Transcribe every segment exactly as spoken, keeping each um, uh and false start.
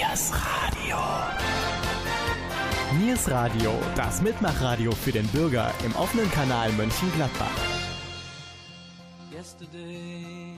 Niers Radio. Niers Radio, das Mitmachradio für den Bürger im offenen Kanal Mönchengladbach. Yesterday,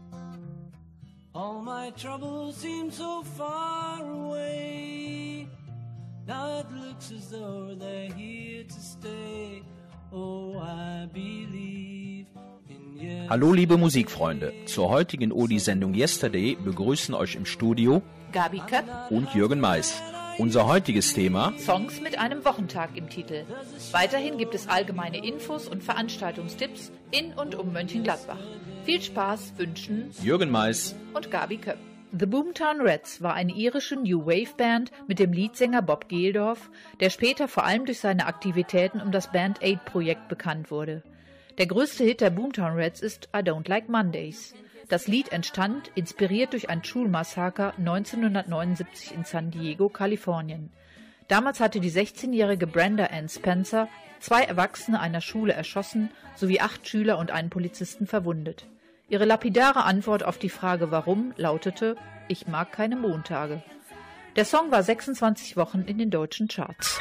all my troubles seem so far away. Now it looks as though they're here to stay. Oh, I believe in yesterday. Hallo liebe Musikfreunde, zur heutigen Oldie-Sendung Yesterday begrüßen euch im Studio Gabi Köpp und Jürgen Mais. Unser heutiges Thema: Songs mit einem Wochentag im Titel. Weiterhin gibt es allgemeine Infos und Veranstaltungstipps in und um Mönchengladbach. Viel Spaß wünschen Jürgen Mais und Gabi Köpp. The Boomtown Rats war eine irische New Wave Band mit dem Leadsänger Bob Geldof, der später vor allem durch seine Aktivitäten um das Band Aid Projekt bekannt wurde. Der größte Hit der Boomtown Rats ist I Don't Like Mondays. Das Lied entstand, inspiriert durch ein Schulmassaker neunzehnhundertneunundsiebzig in San Diego, Kalifornien. Damals hatte die sechzehnjährige Brenda Ann Spencer zwei Erwachsene einer Schule erschossen sowie acht Schüler und einen Polizisten verwundet. Ihre lapidare Antwort auf die Frage warum lautete: Ich mag keine Montage. Der Song war sechsundzwanzig Wochen in den deutschen Charts.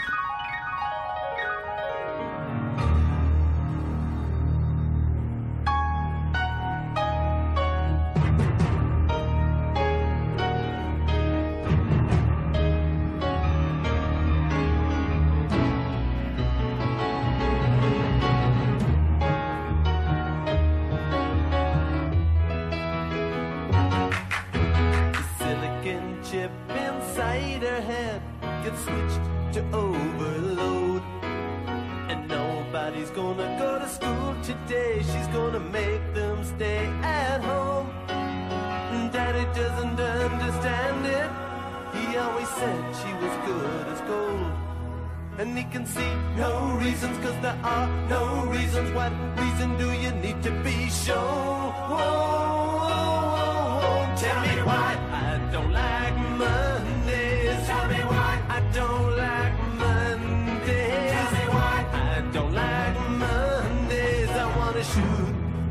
And he can see no reasons, cause there are no reasons. What reason do you need to be shown? Whoa, whoa, whoa, whoa. Tell me why I don't like Mondays. Tell me why I don't like Mondays. Tell me why I don't like Mondays. I wanna shoot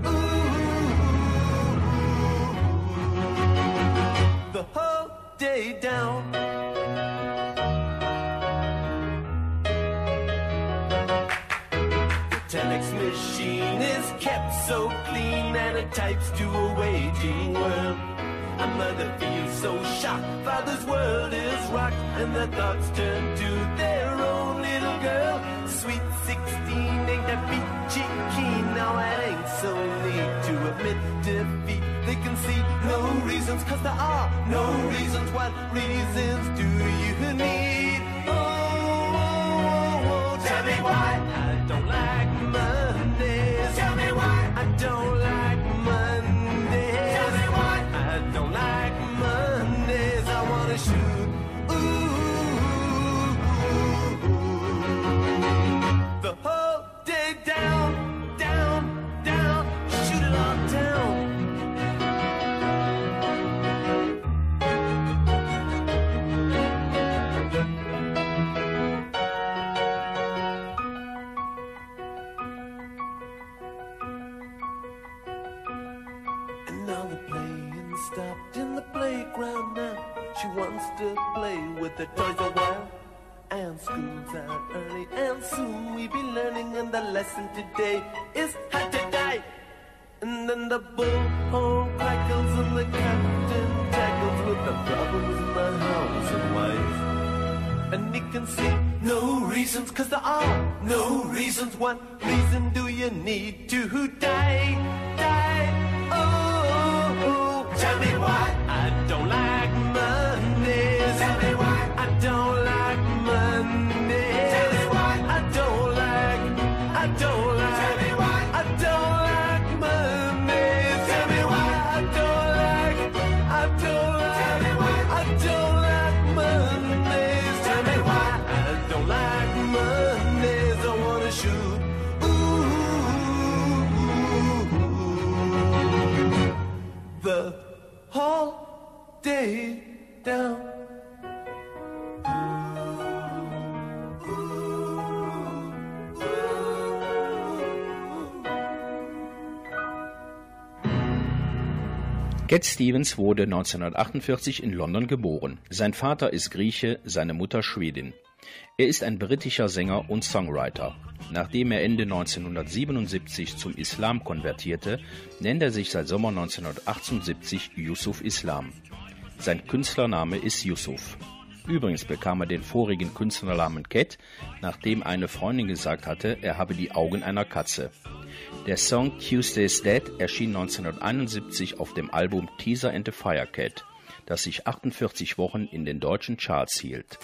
ooh, the whole day down. Telex machine is kept so clean and it types to a waging world. A mother feels so shocked, father's world is rocked, and their thoughts turn to their own little girl. Sweet sixteen ain't that peachy keen, now it ain't so neat to admit defeat. They can see no reasons, cause there are no reasons. What reasons do you need? Oh, oh, oh, oh. Tell me why I don't like Mondays. Tell me why I don't like Mondays. Tell me why I don't like Mondays. I wanna shoot ooh, the whole day down, down, down, shoot it all down. Stopped in the playground now. She wants to play with the toys a while. And school's out early, and soon we be learning. And the lesson today is how to die. And then the bullhorn crackles and the captain tackles with the problems in the house and wife. And he can see no reasons, cause there are no reasons. What reason do you need to die? Die, oh, oh. Tell me why I don't like Mondays. Tell me why I don't like Mondays. Tell me why I don't like, I don't like. Tell me why I don't like Mondays. Tell me why I don't like, I don't like. Tell me why I don't like Mondays. Tell me why I don't like Mondays. I wanna shoot ooh, the whole day down. Cat Stevens wurde neunzehnhundertachtundvierzig in London geboren. Sein Vater ist Grieche, seine Mutter Schwedin. Er ist ein britischer Sänger und Songwriter. Nachdem er Ende neunzehnhundertsiebenundsiebzig zum Islam konvertierte, nennt er sich seit Sommer neunzehnhundertachtundsiebzig Yusuf Islam. Sein Künstlername ist Yusuf. Übrigens bekam er den vorigen Künstlernamen Cat, nachdem eine Freundin gesagt hatte, er habe die Augen einer Katze. Der Song Tuesday's Dead erschien neunzehnhunderteinundsiebzig auf dem Album Teaser and the Firecat, das sich achtundvierzig Wochen in den deutschen Charts hielt.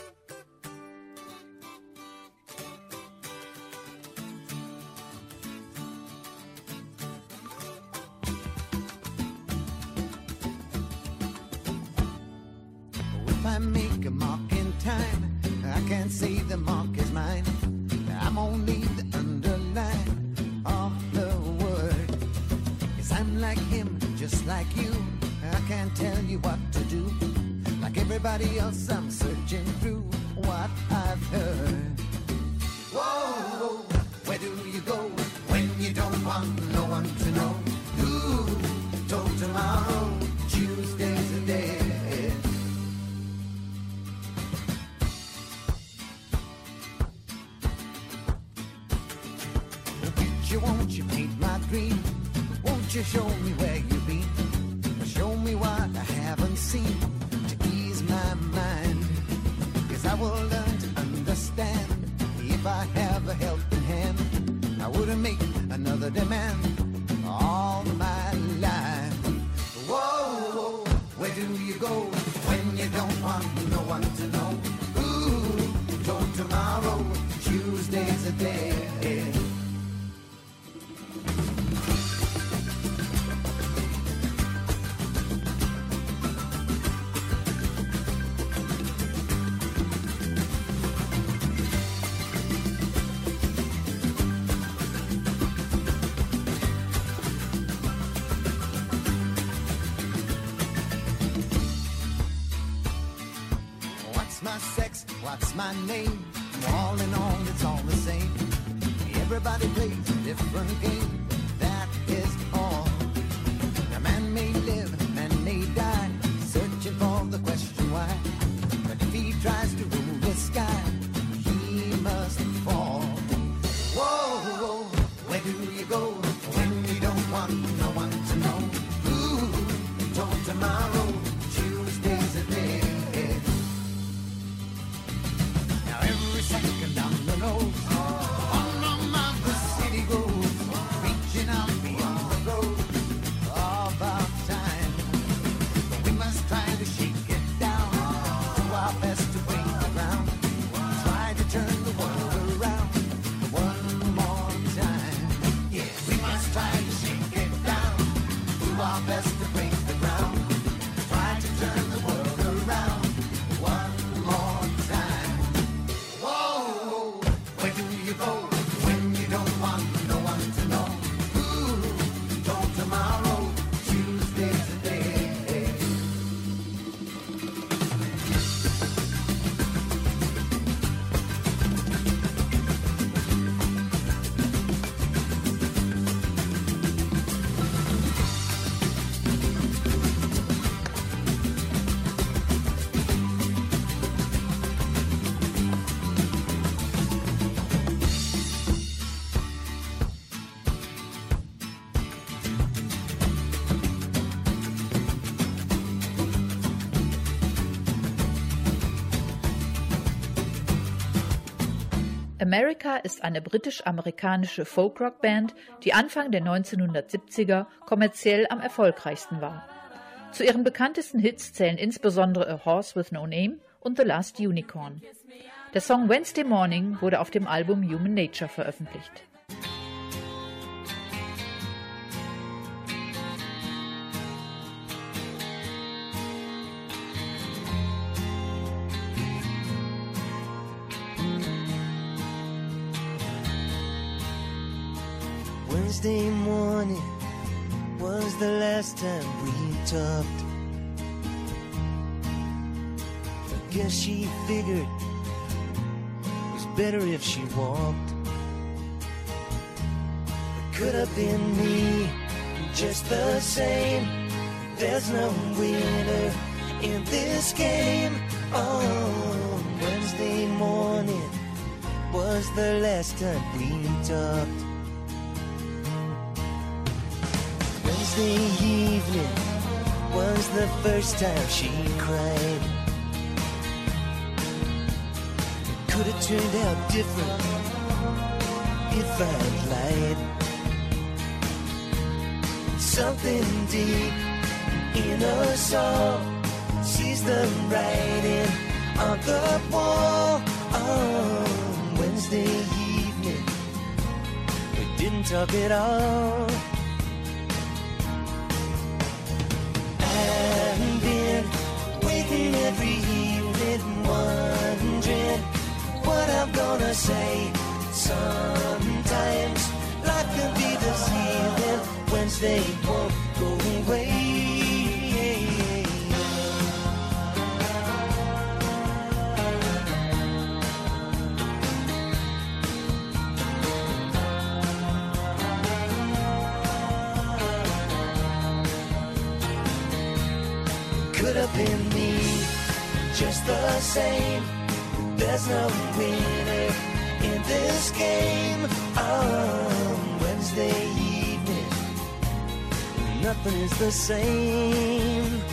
If I make a mark in time, I can't say the mark is mine. I'm only the underline of the word. Yes, I'm like him, just like you. I can't tell you what to do. Like everybody else, I'm searching through what I've heard. Whoa, where do you go when you don't want no one to know? Who told tomorrow Tuesday's a day? Won't you paint my dream? Won't you show me where you've been? Show me what I haven't seen to ease my mind. Cause I will learn to understand if I have a helping hand. I wouldn't make another demand all my life. Whoa, whoa, where do you go when you don't want no one to know? Ooh, told tomorrow Tuesday's a day. My sex, what's my name? All in all, it's all the same. Everybody plays a different game, that is all. A man may live, man may die, searching for the question why. But if he tries to rule the sky, he must fall. Whoa, whoa, where do you go when you don't want no one to know? Ooh, told tomorrow, Tuesday's a day. Second down the nose, on and on the city goes, reaching out beyond the road of our time. But we must try to shake it down, do our best to break the ground, try to turn the world around one more time. Yeah, we must try to shake it down, do our best to break the ground, try to turn the world around one more time. Where do you go when you don't want no one to know? Ooh, don't tomorrow, Tuesday's a day. America ist eine britisch-amerikanische Folkrock-Band, die Anfang der neunzehnhundertsiebziger kommerziell am erfolgreichsten war. Zu ihren bekanntesten Hits zählen insbesondere A Horse with No Name und The Last Unicorn. Der Song Wednesday Morning wurde auf dem Album Human Nature veröffentlicht. Wednesday morning was the last time we talked. I guess she figured it was better if she walked. It could have been me just the same. there's no winner in this game. On Wednesday morning was the last time we talked. Wednesday evening was the first time she cried. It could have turned out different if I'd lied. Something deep in us all sees the writing on the wall. On Wednesday evening we didn't talk at all. I've been waiting every evening, wondering what I'm gonna say. Sometimes life can be deceiving. Wednesday won't go away. Could have been me, just the same. There's no winner in this game. On Wednesday evening, nothing is the same.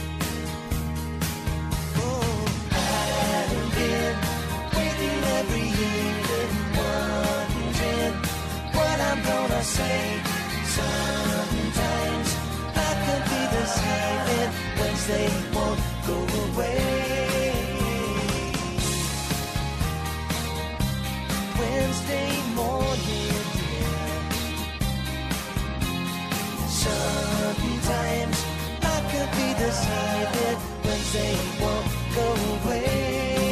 Oh, I've been waiting every evening, wondering what I'm gonna say. Sometimes I could be deceiving. Wednesday won't go away. Wednesday morning, yeah. Sometimes I could be deceiving. Wednesday won't go away.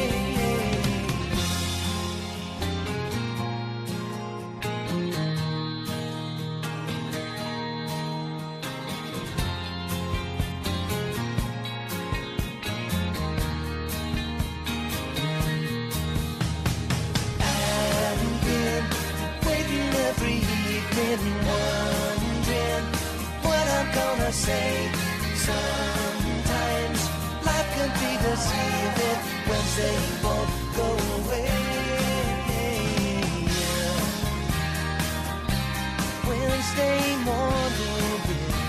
Wondering what I'm gonna say. Sometimes life can be deceiving. Wednesday won't go away. Wednesday morning,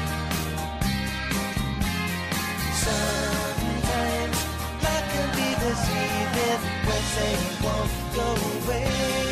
sometimes life can be deceiving. Wednesday won't go away.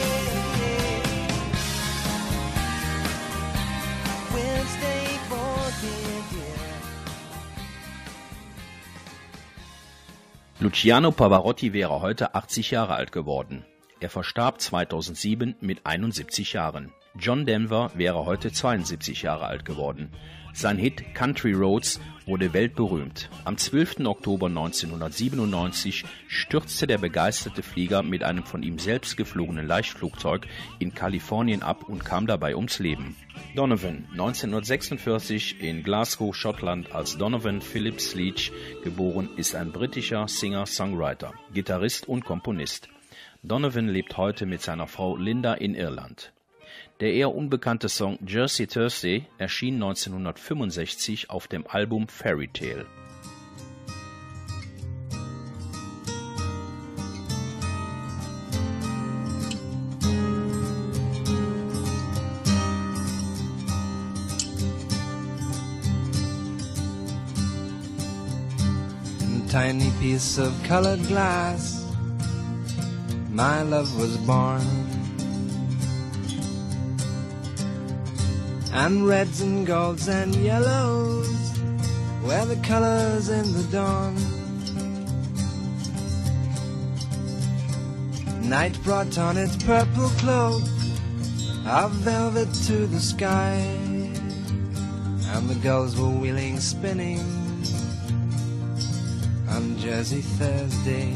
Luciano Pavarotti wäre heute achtzig Jahre alt geworden. Er verstarb zweitausendsieben mit einundsiebzig Jahren. John Denver wäre heute zweiundsiebzig Jahre alt geworden. Sein Hit Country Roads wurde weltberühmt. Am zwölften Oktober neunzehnhundertsiebenundneunzig stürzte der begeisterte Flieger mit einem von ihm selbst geflogenen Leichtflugzeug in Kalifornien ab und kam dabei ums Leben. Donovan, neunzehnhundertsechsundvierzig in Glasgow, Schottland, als Donovan Phillips Leach geboren, ist ein britischer Singer-Songwriter, Gitarrist und Komponist. Donovan lebt heute mit seiner Frau Linda in Irland. Der eher unbekannte Song Jersey Thursday erschien neunzehnhundertfünfundsechzig auf dem Album Fairy Tale. Tiny piece of colored glass, my love was born. And reds and golds and yellows were the colors in the dawn. Night brought on its purple cloak of velvet to the sky, and the gulls were wheeling, spinning on Jersey Thursday.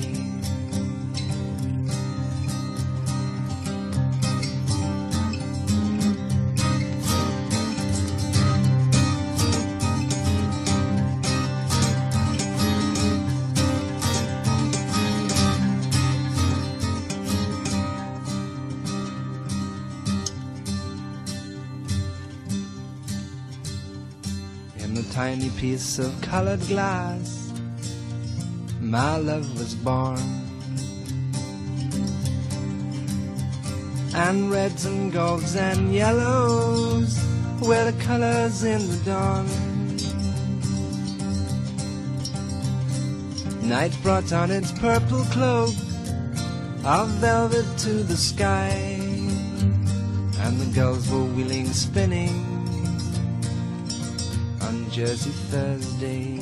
In the tiny piece of colored glass, my love was born. And reds and golds and yellows were the colors in the dawn. Night brought on its purple cloak of velvet to the sky, and the gulls were wheeling, spinning on Jersey Thursday.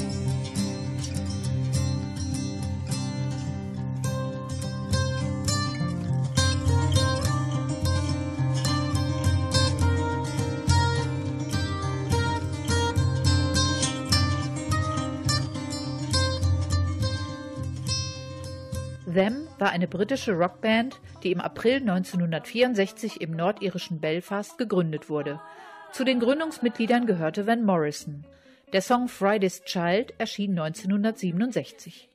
Them war eine britische Rockband, die im April neunzehnhundertvierundsechzig im nordirischen Belfast gegründet wurde. Zu den Gründungsmitgliedern gehörte Van Morrison. Der Song Friday's Child erschien neunzehnhundertsiebenundsechzig.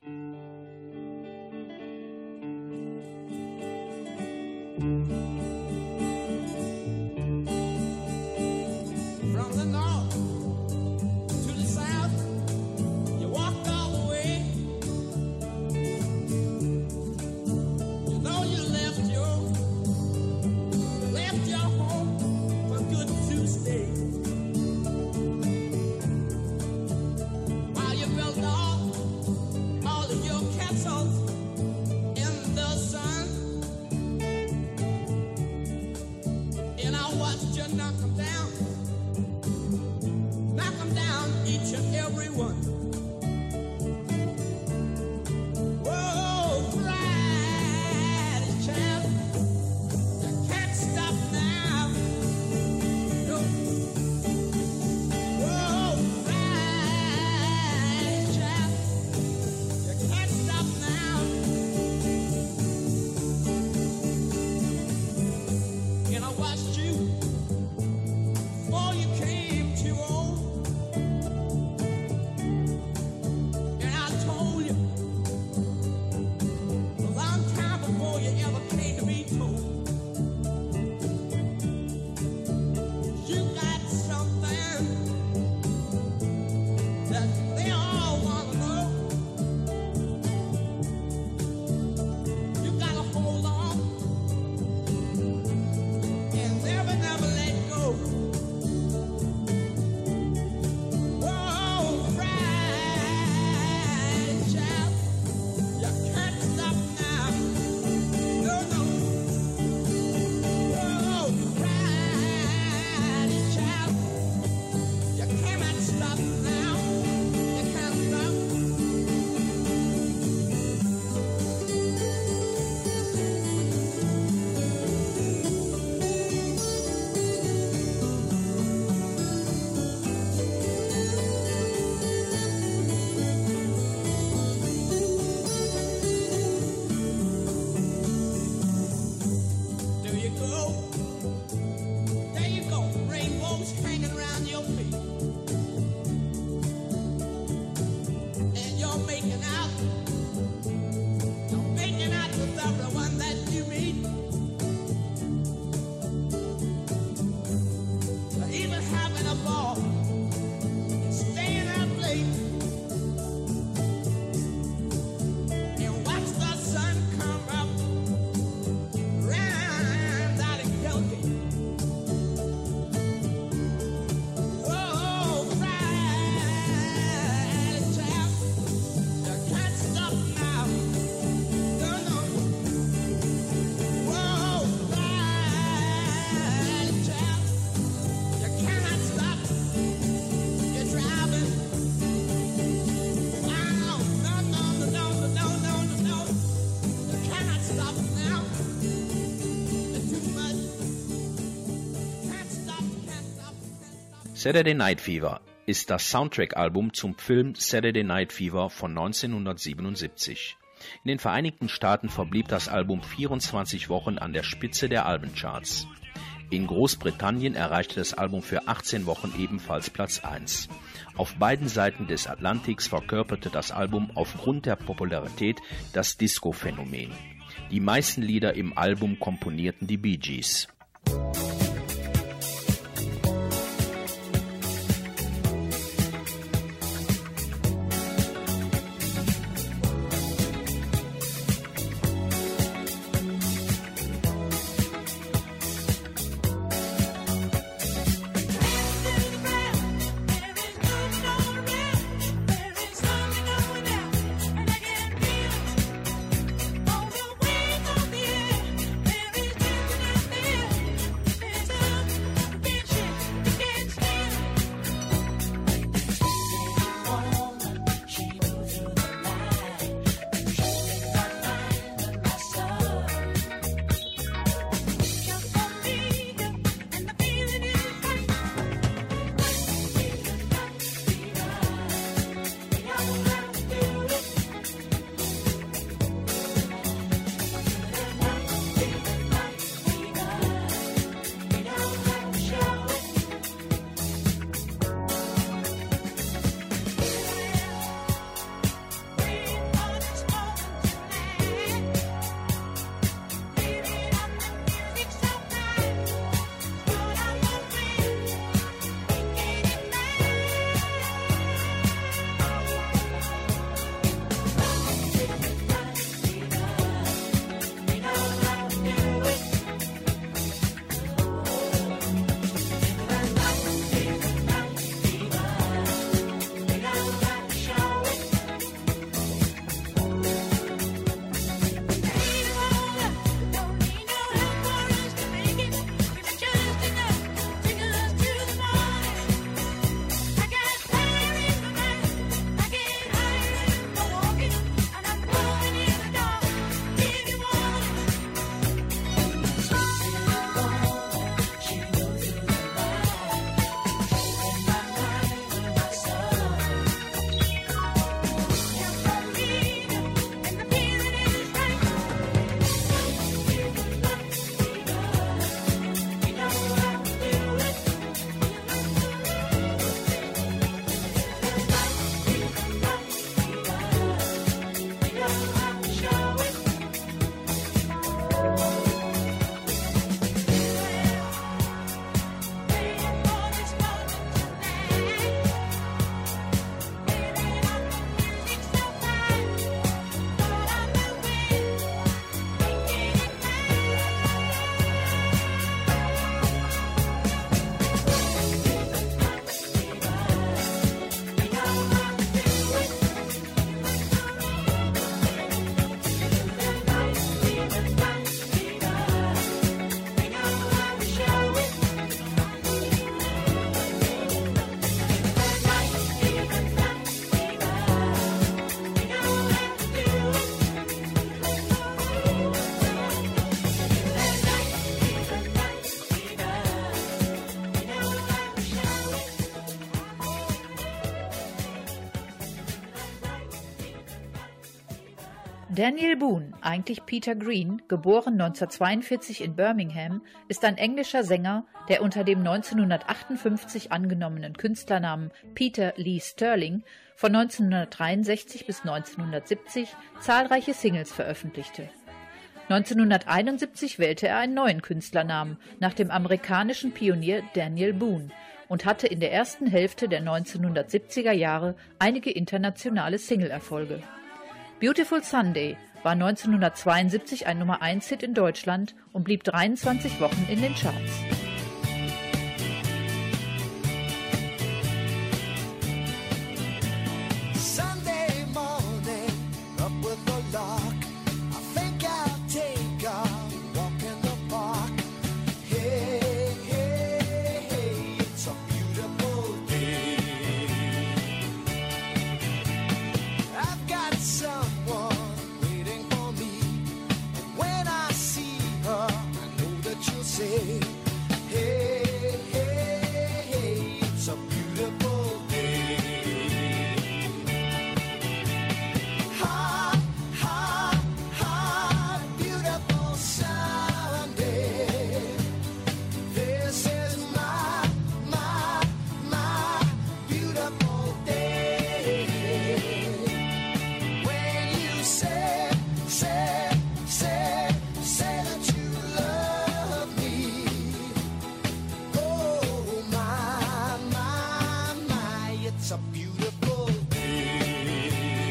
Saturday Night Fever ist das Soundtrack-Album zum Film Saturday Night Fever von neunzehnhundertsiebenundsiebzig. In den Vereinigten Staaten verblieb das Album vierundzwanzig Wochen an der Spitze der Albencharts. In Großbritannien erreichte das Album für achtzehn Wochen ebenfalls Platz eins. Auf beiden Seiten des Atlantiks verkörperte das Album aufgrund der Popularität das Disco-Phänomen. Die meisten Lieder im Album komponierten die Bee Gees. Daniel Boone, eigentlich Peter Green, geboren neunzehnhundertzweiundvierzig in Birmingham, ist ein englischer Sänger, der unter dem neunzehnhundertachtundfünfzig angenommenen Künstlernamen Peter Lee Sterling von neunzehnhundertdreiundsechzig bis neunzehnhundertsiebzig zahlreiche Singles veröffentlichte. neunzehnhunderteinundsiebzig wählte er einen neuen Künstlernamen nach dem amerikanischen Pionier Daniel Boone und hatte in der ersten Hälfte der neunzehnhundertsiebziger Jahre einige internationale Single-Erfolge. Beautiful Sunday war neunzehnhundertzweiundsiebzig ein Nummer eins Hit in Deutschland und blieb dreiundzwanzig Wochen in den Charts. Sunday morning, up with the lark. I think I'll take a walk in the park. Hey, hey, hey, it's a beautiful day. I've got someone waiting for me. And when I see her, I know that she'll say, hey, hey, hey, it's a beautiful day. Hot, hot, hot, beautiful Sunday. This is my, my, my beautiful day. When you say, say, say, say that you love me. Oh, my, my, my, it's a beautiful day.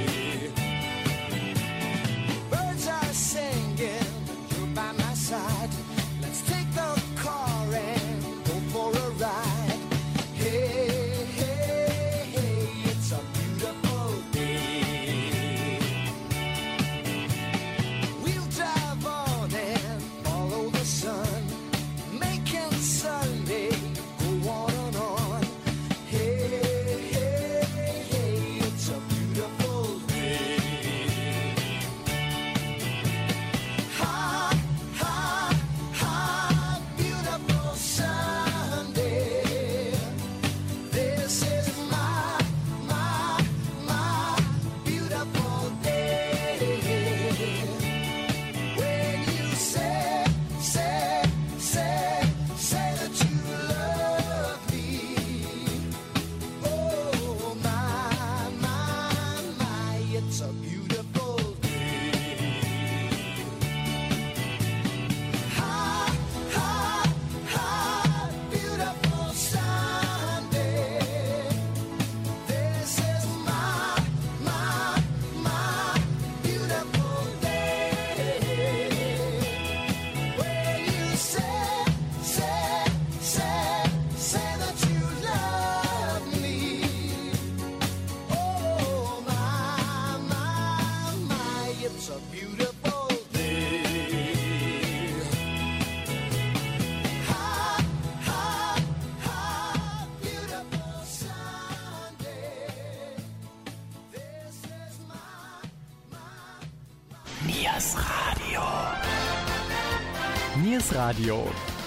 Birds are singing, you're by my side. Let's take the car and go for a ride. Hey, hey, hey, it's a beautiful day. We'll drive on and follow the sun, making Sunday go on and on. Hey, hey, hey, it's a beautiful day. Hot, hot, hot, beautiful Sunday. This is my, my, my beautiful day. When you say, say, say, say that you love me. Oh, my, my, my, it's a beautiful day. Hot, hot, hot, beautiful Sunday. This is my, my, my beautiful day. When you say, say, say, say that you love me. Oh, my, my, my, it's a beautiful day. Hot, hot, hot, beautiful Sunday. This is my, my, Niers Radio. Niers Radio.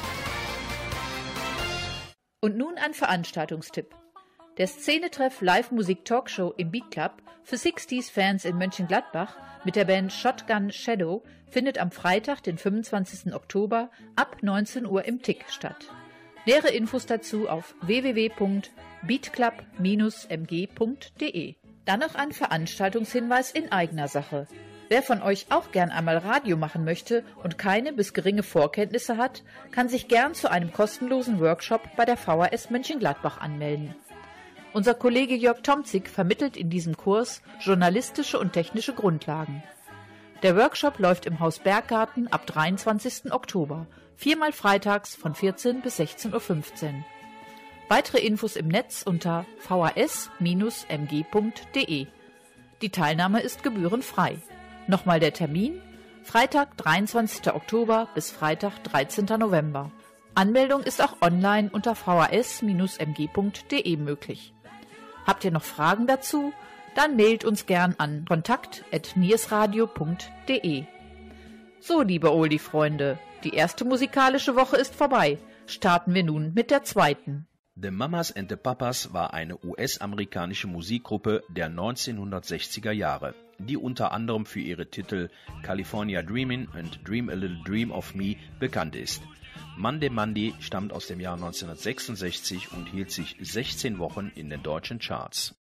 Und nun ein Veranstaltungstipp. Der Szenetreff Live-Musik-Talkshow im Beat Club für sechziger-Fans in Mönchengladbach mit der Band Shotgun Shadow findet am Freitag, den fünfundzwanzigsten Oktober ab neunzehn Uhr im Tick statt. Nähere Infos dazu auf w w w punkt beatclub Bindestrich m g punkt d e. Dann noch ein Veranstaltungshinweis in eigener Sache. Wer von euch auch gern einmal Radio machen möchte und keine bis geringe Vorkenntnisse hat, kann sich gern zu einem kostenlosen Workshop bei der V H S Mönchengladbach anmelden. Unser Kollege Jörg Tomzig vermittelt in diesem Kurs journalistische und technische Grundlagen. Der Workshop läuft im Haus Berggarten ab dreiundzwanzigsten Oktober, viermal freitags von vierzehn bis sechzehn Uhr fünfzehn. Weitere Infos im Netz unter v h s Bindestrich m g punkt d e. Die Teilnahme ist gebührenfrei. Nochmal der Termin: Freitag, dreiundzwanzigsten Oktober bis Freitag, dreizehnten November. Anmeldung ist auch online unter v h s Bindestrich m g punkt d e möglich. Habt ihr noch Fragen dazu? Dann mailt uns gern an kontakt at niersradio punkt d e. So, liebe Oldie-Freunde, die erste musikalische Woche ist vorbei. Starten wir nun mit der zweiten. The Mamas and the Papas war eine U S-amerikanische Musikgruppe der neunzehnhundertsechziger Jahre, die unter anderem für ihre Titel California Dreamin' und Dream a Little Dream of Me bekannt ist. Monday Monday stammt aus dem Jahr neunzehnhundertsechsundsechzig und hielt sich sechzehn Wochen in den deutschen Charts.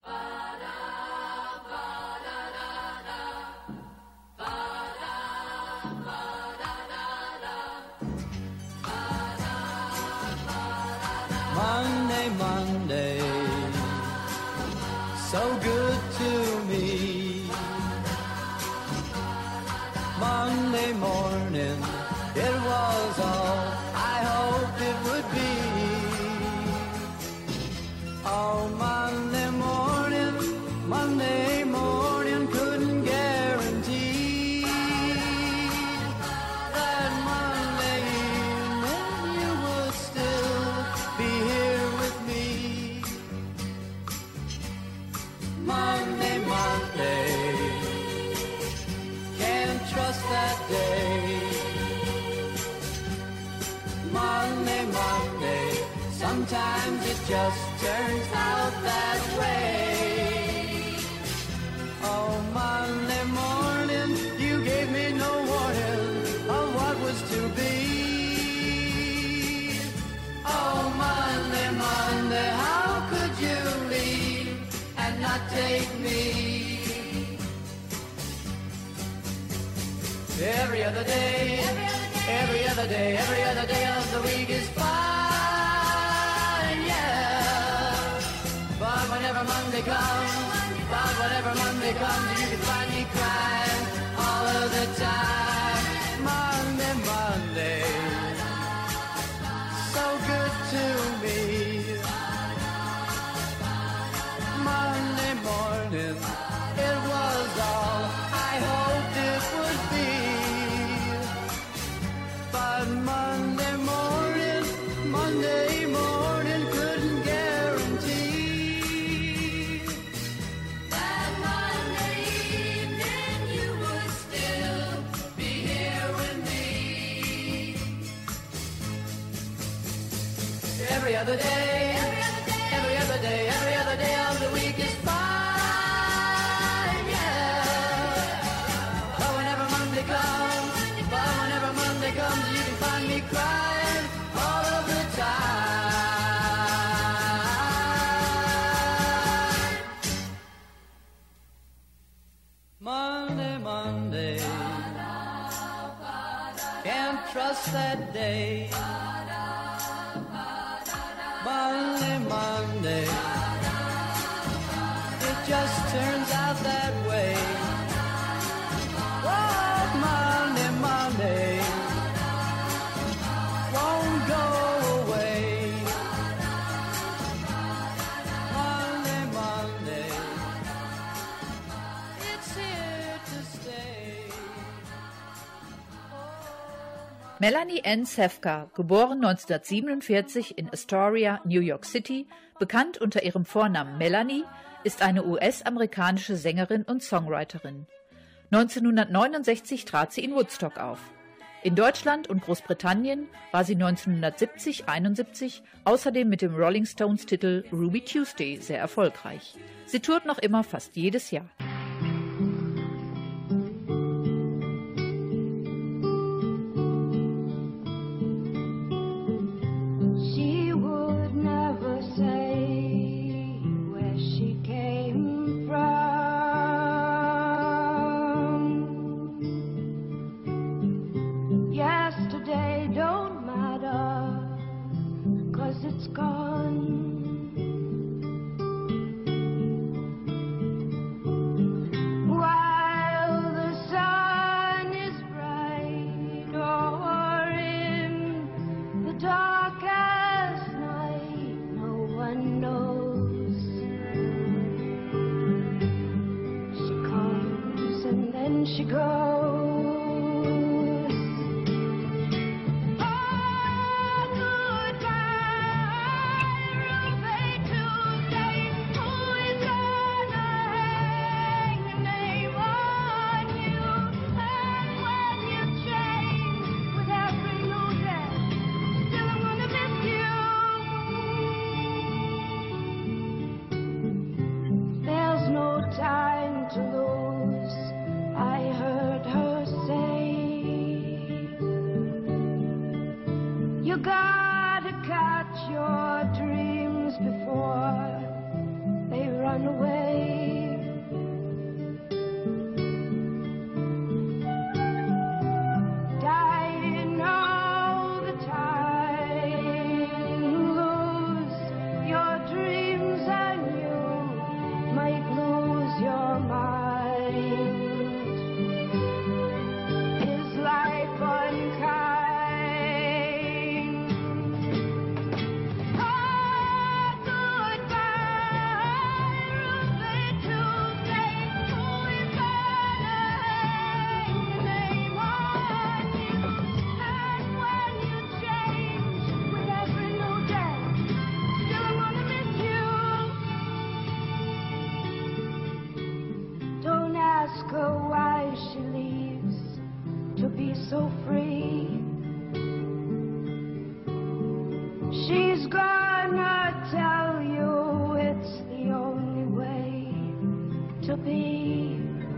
Monday, Monday, so good to me. Monday morning, it was all I hoped it would be. Oh, Monday morning, Monday morning, couldn't guarantee that Monday evening you would still be here with me. Monday, Monday, can't trust that day. Monday, Monday, sometimes it just turns out that way. Oh, Monday morning, you gave me no warning of what was to be. Oh, Monday, Monday, how could you leave and not take me? Every other day, every other day, every other day of the week is fine, yeah. But whenever Monday comes, but whenever Monday comes, you can find me crying all of the time. Monday, Monday, so good to me. Monday morning, it was all I hoped it would be. But Monday morning, Monday morning couldn't guarantee that Monday evening you would still be here with me. Every other day, every other day, every other day of the week is fine, yeah. But whenever Monday comes, but whenever Monday comes, you can find me crying all of the time. Monday, Monday, can't trust that day. Monday, Monday, it just turns out that way. Oh, Monday, Monday, won't go away. Monday, Monday, it's here to stay. Melanie Ann Safka, geboren neunzehnhundertsiebenundvierzig in Astoria, New York City, bekannt unter ihrem Vornamen Melanie, ist eine U S-amerikanische Sängerin und Songwriterin. neunzehnhundertneunundsechzig trat sie in Woodstock auf. In Deutschland und Großbritannien war sie neunzehnhundertsiebzig einundsiebzig außerdem mit dem Rolling Stones-Titel Ruby Tuesday sehr erfolgreich. Sie tourt noch immer fast jedes Jahr. It's gone. While the sun is bright, or in the darkest night, no one knows. She comes and then she goes. Oh, goodbye, You gotta catch your dreams before they run away. Dying all the time, lose your dreams and you might lose your mind. Is life unkind? Ask her why she leaves to be so free. She's gonna tell you it's the only way to be.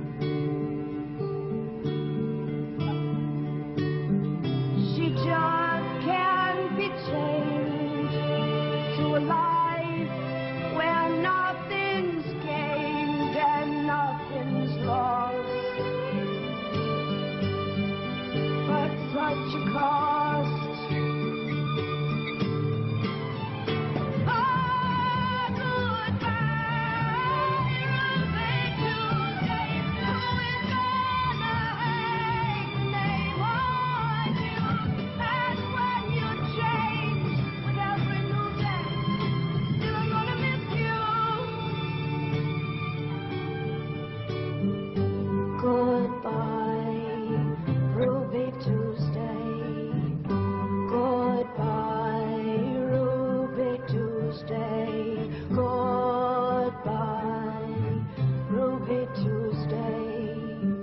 She just can't be changed to a life where nothing's gained and nothing's lost. But such a cost. Oh, goodbye, Ruby Tuesday. Who is gonna hang the name on you? And when you change with every new day, still I'm gonna miss you. Goodbye, Ruby Tuesday. Goodbye, Ruby Tuesday. Goodbye, Ruby Tuesday.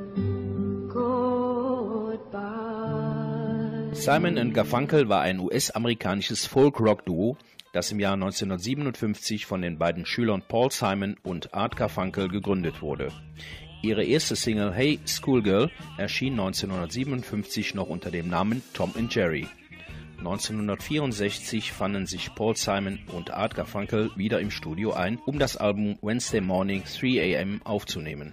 Goodbye. Simon and Garfunkel war ein U S-amerikanisches Folk-Rock-Duo, das im Jahr neunzehnhundertsiebenundfünfzig von den beiden Schülern Paul Simon und Art Garfunkel gegründet wurde. Ihre erste Single Hey Schoolgirl erschien neunzehnhundertsiebenundfünfzig noch unter dem Namen Tom and Jerry. neunzehnhundertvierundsechzig fanden sich Paul Simon und Art Garfunkel wieder im Studio ein, um das Album Wednesday Morning three a m aufzunehmen.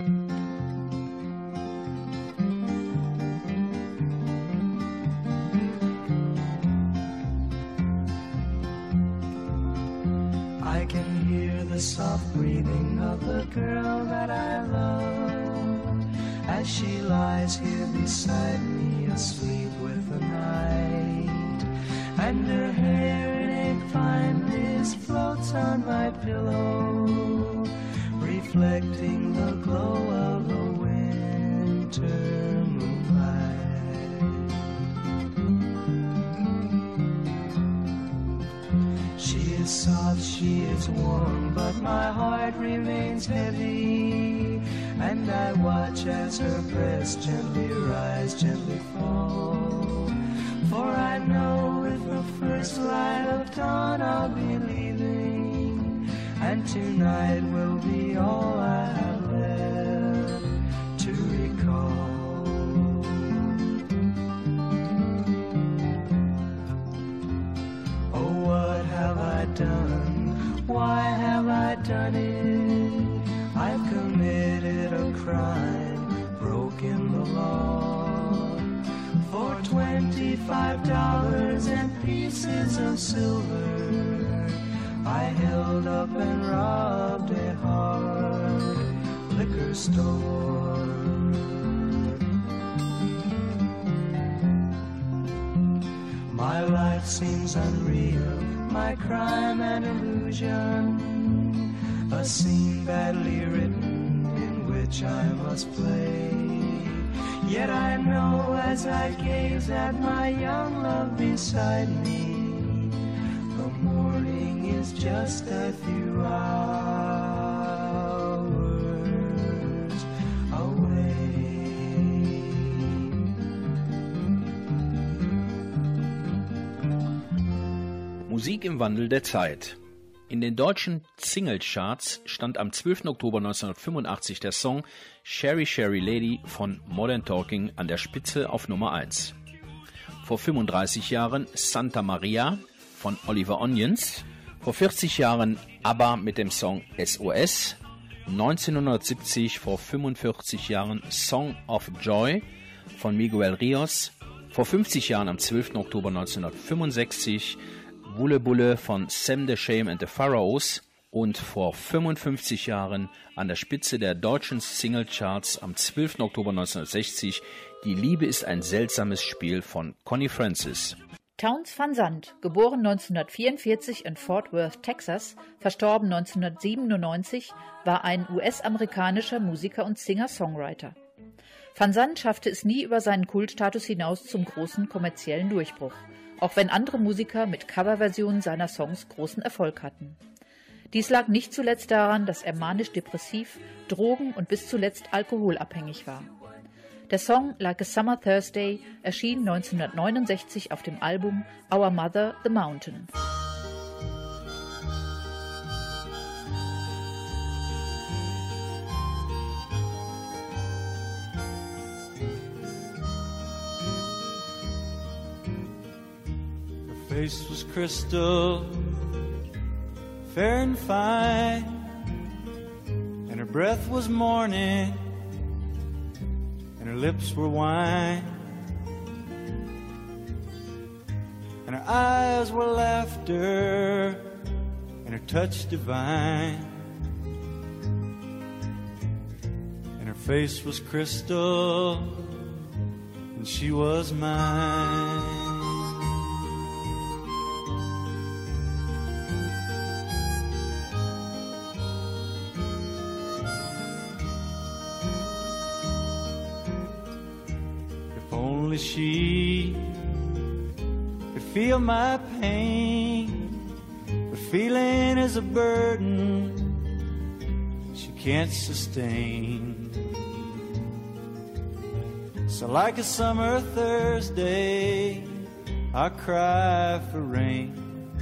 I can hear the soft breathing of the girl that I love as she lies here beside me, asleep with the night, and her hair in a fine mist floats on my pillow, reflecting the glow of the winter moonlight. She is soft, she is warm, but my heart remains heavy, and I watch as her breast gently rise, gently fall. For I know with the first light of dawn I'll be leaving, and tonight will be all I have left to recall. Oh, what have I done? Why have I done it? I've committed a crime, broken the law. For twenty-five dollars and pieces of silver, I held up and robbed a hard liquor store. My life seems unreal, my crime an illusion, a scene badly written in which I must play. Yet I know as I gaze at my young love beside me, the morning is just a few hours away. Musik im Wandel der Zeit. In den deutschen Singlecharts stand am zwölften Oktober neunzehnhundertfünfundachtzig der Song Sherry Sherry Lady von Modern Talking an der Spitze auf Nummer eins. Vor fünfunddreißig Jahren Santa Maria von Oliver Onions. Vor vierzig Jahren ABBA mit dem Song S O S. neunzehnhundertsiebzig, vor fünfundvierzig Jahren Song of Joy von Miguel Rios. Vor fünfzig Jahren, am zwölften Oktober neunzehnhundertfünfundsechzig, Bulle Bulle von Sam the Shame and the Pharaohs. Und vor fünfundfünfzig Jahren an der Spitze der deutschen Singlecharts am zwölften Oktober neunzehnhundertsechzig, Die Liebe ist ein seltsames Spiel von Connie Francis. Townes Van Zandt, geboren neunzehnhundertvierundvierzig in Fort Worth, Texas, verstorben neunzehnhundertsiebenundneunzig, war ein U S-amerikanischer Musiker und Singer-Songwriter. Van Zandt schaffte es nie über seinen Kultstatus hinaus zum großen kommerziellen Durchbruch, auch wenn andere Musiker mit Coverversionen seiner Songs großen Erfolg hatten. Dies lag nicht zuletzt daran, dass er manisch-depressiv, drogen- und bis zuletzt alkoholabhängig war. Der Song Like a Summer Thursday erschien neunzehnhundertneunundsechzig auf dem Album Our Mother, the Mountain. Her face was crystal, fair and fine, and her breath was morning, and her lips were wine, and her eyes were laughter, and her touch divine, and her face was crystal, and she was mine. Only she could feel my pain, but feeling is a burden she can't sustain. So like a summer Thursday, I cry for rain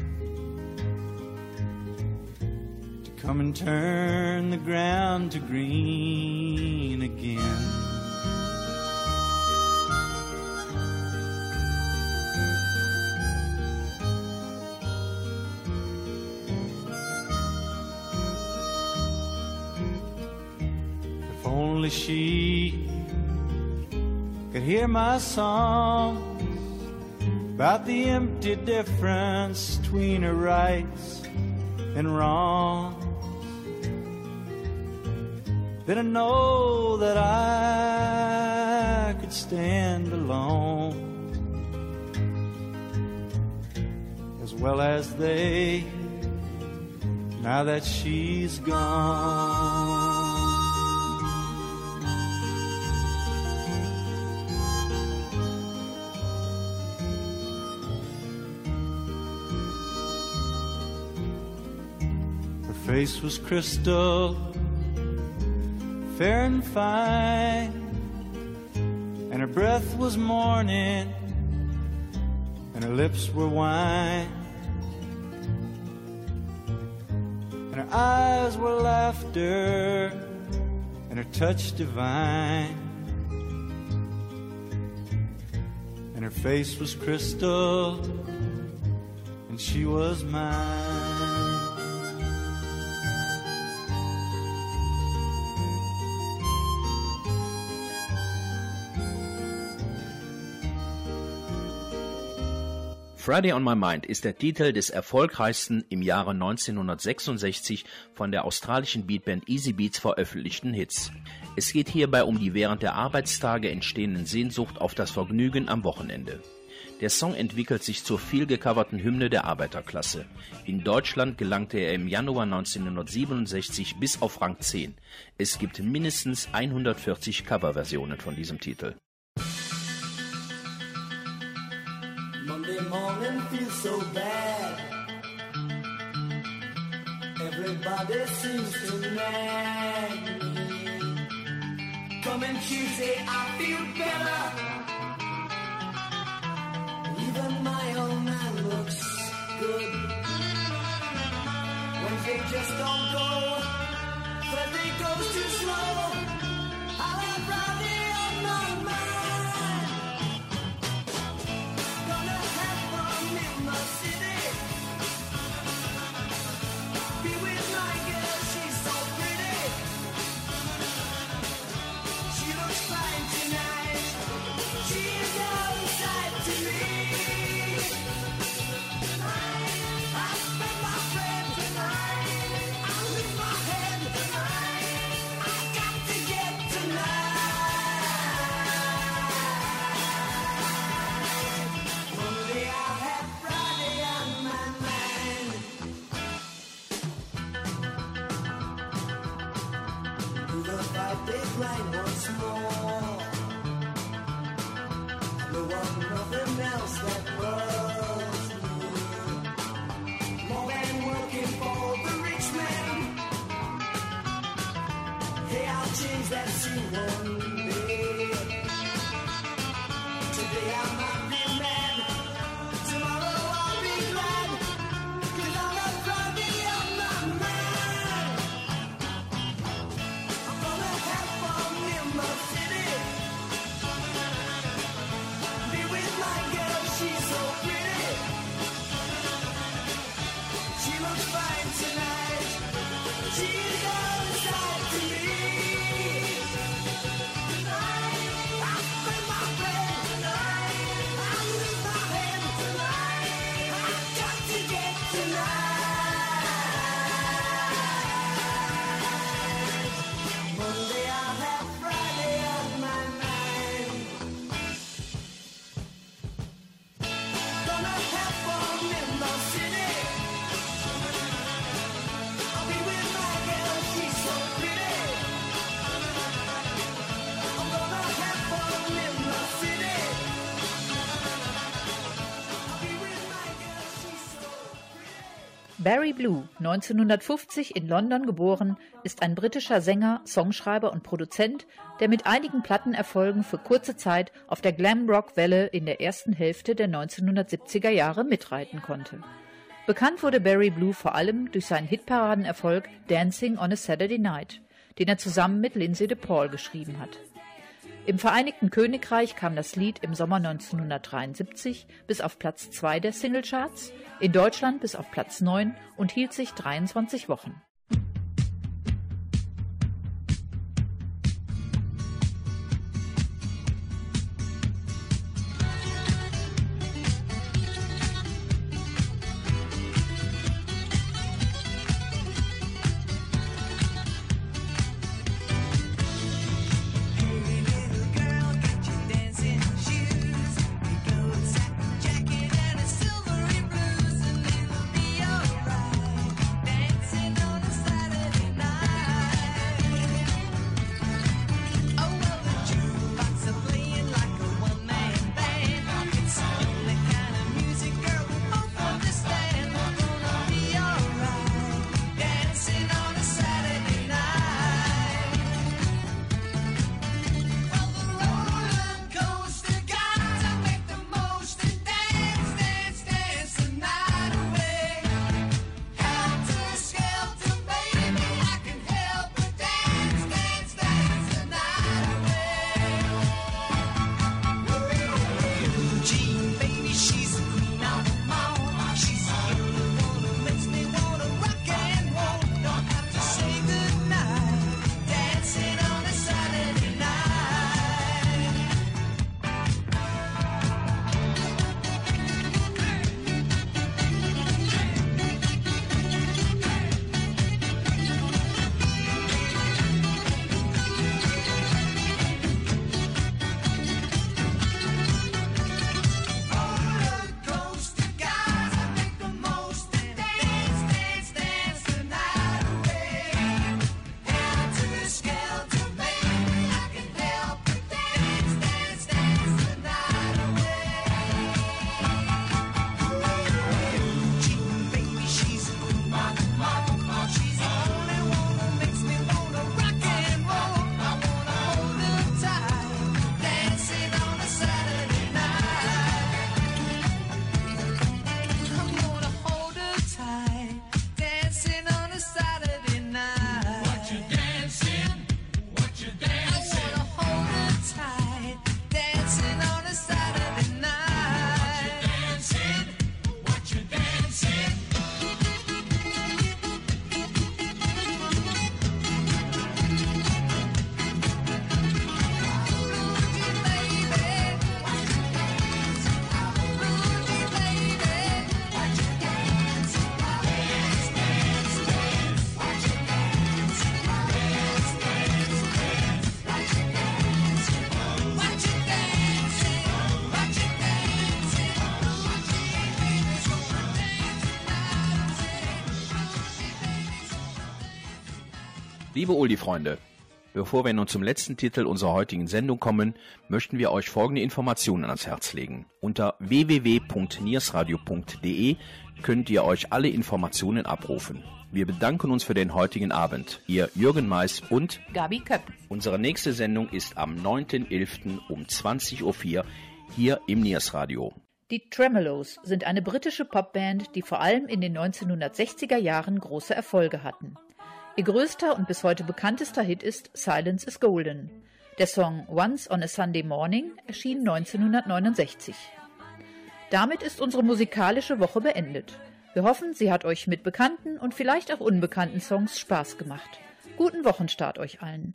to come and turn the ground to green again. Only she could hear my songs about the empty difference between her rights and wrongs. Then I know that I could stand alone as well as they, now that she's gone. Face was crystal, fair and fine, and her breath was morning, and her lips were wine, and her eyes were laughter, and her touch divine, and her face was crystal, and she was mine. Friday on My Mind ist der Titel des erfolgreichsten im Jahre neunzehnhundertsechsundsechzig von der australischen Beatband Easy Beats veröffentlichten Hits. Es geht hierbei um die während der Arbeitstage entstehenden Sehnsucht auf das Vergnügen am Wochenende. Der Song entwickelt sich zur viel gecoverten Hymne der Arbeiterklasse. In Deutschland gelangte er im Januar neunzehnhundertsiebenundsechzig bis auf Rang zehn. Es gibt mindestens hundertvierzig Coverversionen von diesem Titel. Monday morning feels so bad. Everybody seems to nag me. Coming Tuesday, I feel better. Even my old man looks good. Wednesday just don't go. Thursday goes too slow. I'll have Friday on my mind. big line once more. There was nothing else that was more than working for the rich man. Hey, I'll change that scene one day. Today I might be mad, tomorrow I'll be glad, 'cause I'm not driving out my mind. I'm gonna have fun in my city, be with my girl, she's so pretty. She looks fine tonight, she's all inside to me. Tonight, I'll spend my friend tonight, I'll lose my head tonight, I've got to get tonight. Monday I'll have Friday on my mind. Gonna have fun in the city, I'll be with my girl, she's so pretty. I'm gonna have fun in the city, I'll be with my girl, she's so pretty. Barry Blue, neunzehnhundertfünfzig in London geboren, ist ein britischer Sänger, Songschreiber und Produzent, der mit einigen Plattenerfolgen für kurze Zeit auf der Glam-Rock-Welle in der ersten Hälfte der neunzehnhundertsiebziger Jahre mitreiten konnte. Bekannt wurde Barry Blue vor allem durch seinen Hitparadenerfolg Dancing on a Saturday Night, den er zusammen mit Lindsay DePaul geschrieben hat. Im Vereinigten Königreich kam das Lied im Sommer neunzehnhundertdreiundsiebzig bis auf Platz zwei der Singlecharts, in Deutschland bis auf Platz neun und hielt sich dreiundzwanzig Wochen. Liebe Oldie-Freunde, Bevor wir nun zum letzten Titel unserer heutigen Sendung kommen, möchten wir euch folgende Informationen ans Herz legen. Unter w w w punkt niersradio punkt de könnt ihr euch alle Informationen abrufen. Wir bedanken uns für den heutigen Abend. Ihr Jürgen Mais und Gabi Köpp. Unsere nächste Sendung ist am neunten elften um zwanzig Uhr vier hier im Niersradio. Die Tremeloes sind eine britische Popband, die vor allem in den neunzehnhundertsechziger Jahren große Erfolge hatten. Ihr größter und bis heute bekanntester Hit ist Silence is Golden. Der Song Once on a Sunday Morning erschien neunzehnhundertneunundsechzig. Damit ist unsere musikalische Woche beendet. Wir hoffen, sie hat euch mit bekannten und vielleicht auch unbekannten Songs Spaß gemacht. Guten Wochenstart euch allen.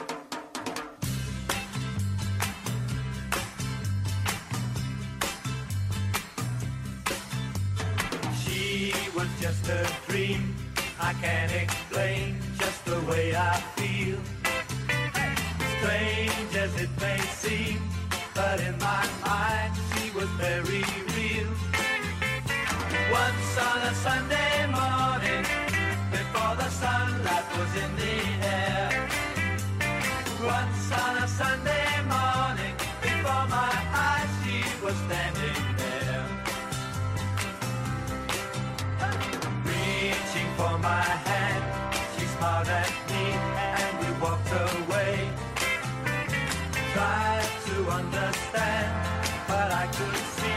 She was just a dream. I can't explain just the way I feel. Strange as it may seem, but in my mind she was very real. Once on a Sunday morning, before the sunlight was in the air. Once on a Sunday morning, before my eyes she was standing there. Reaching for my hand, she smiled at me and we walked away. Tried to understand, but I could see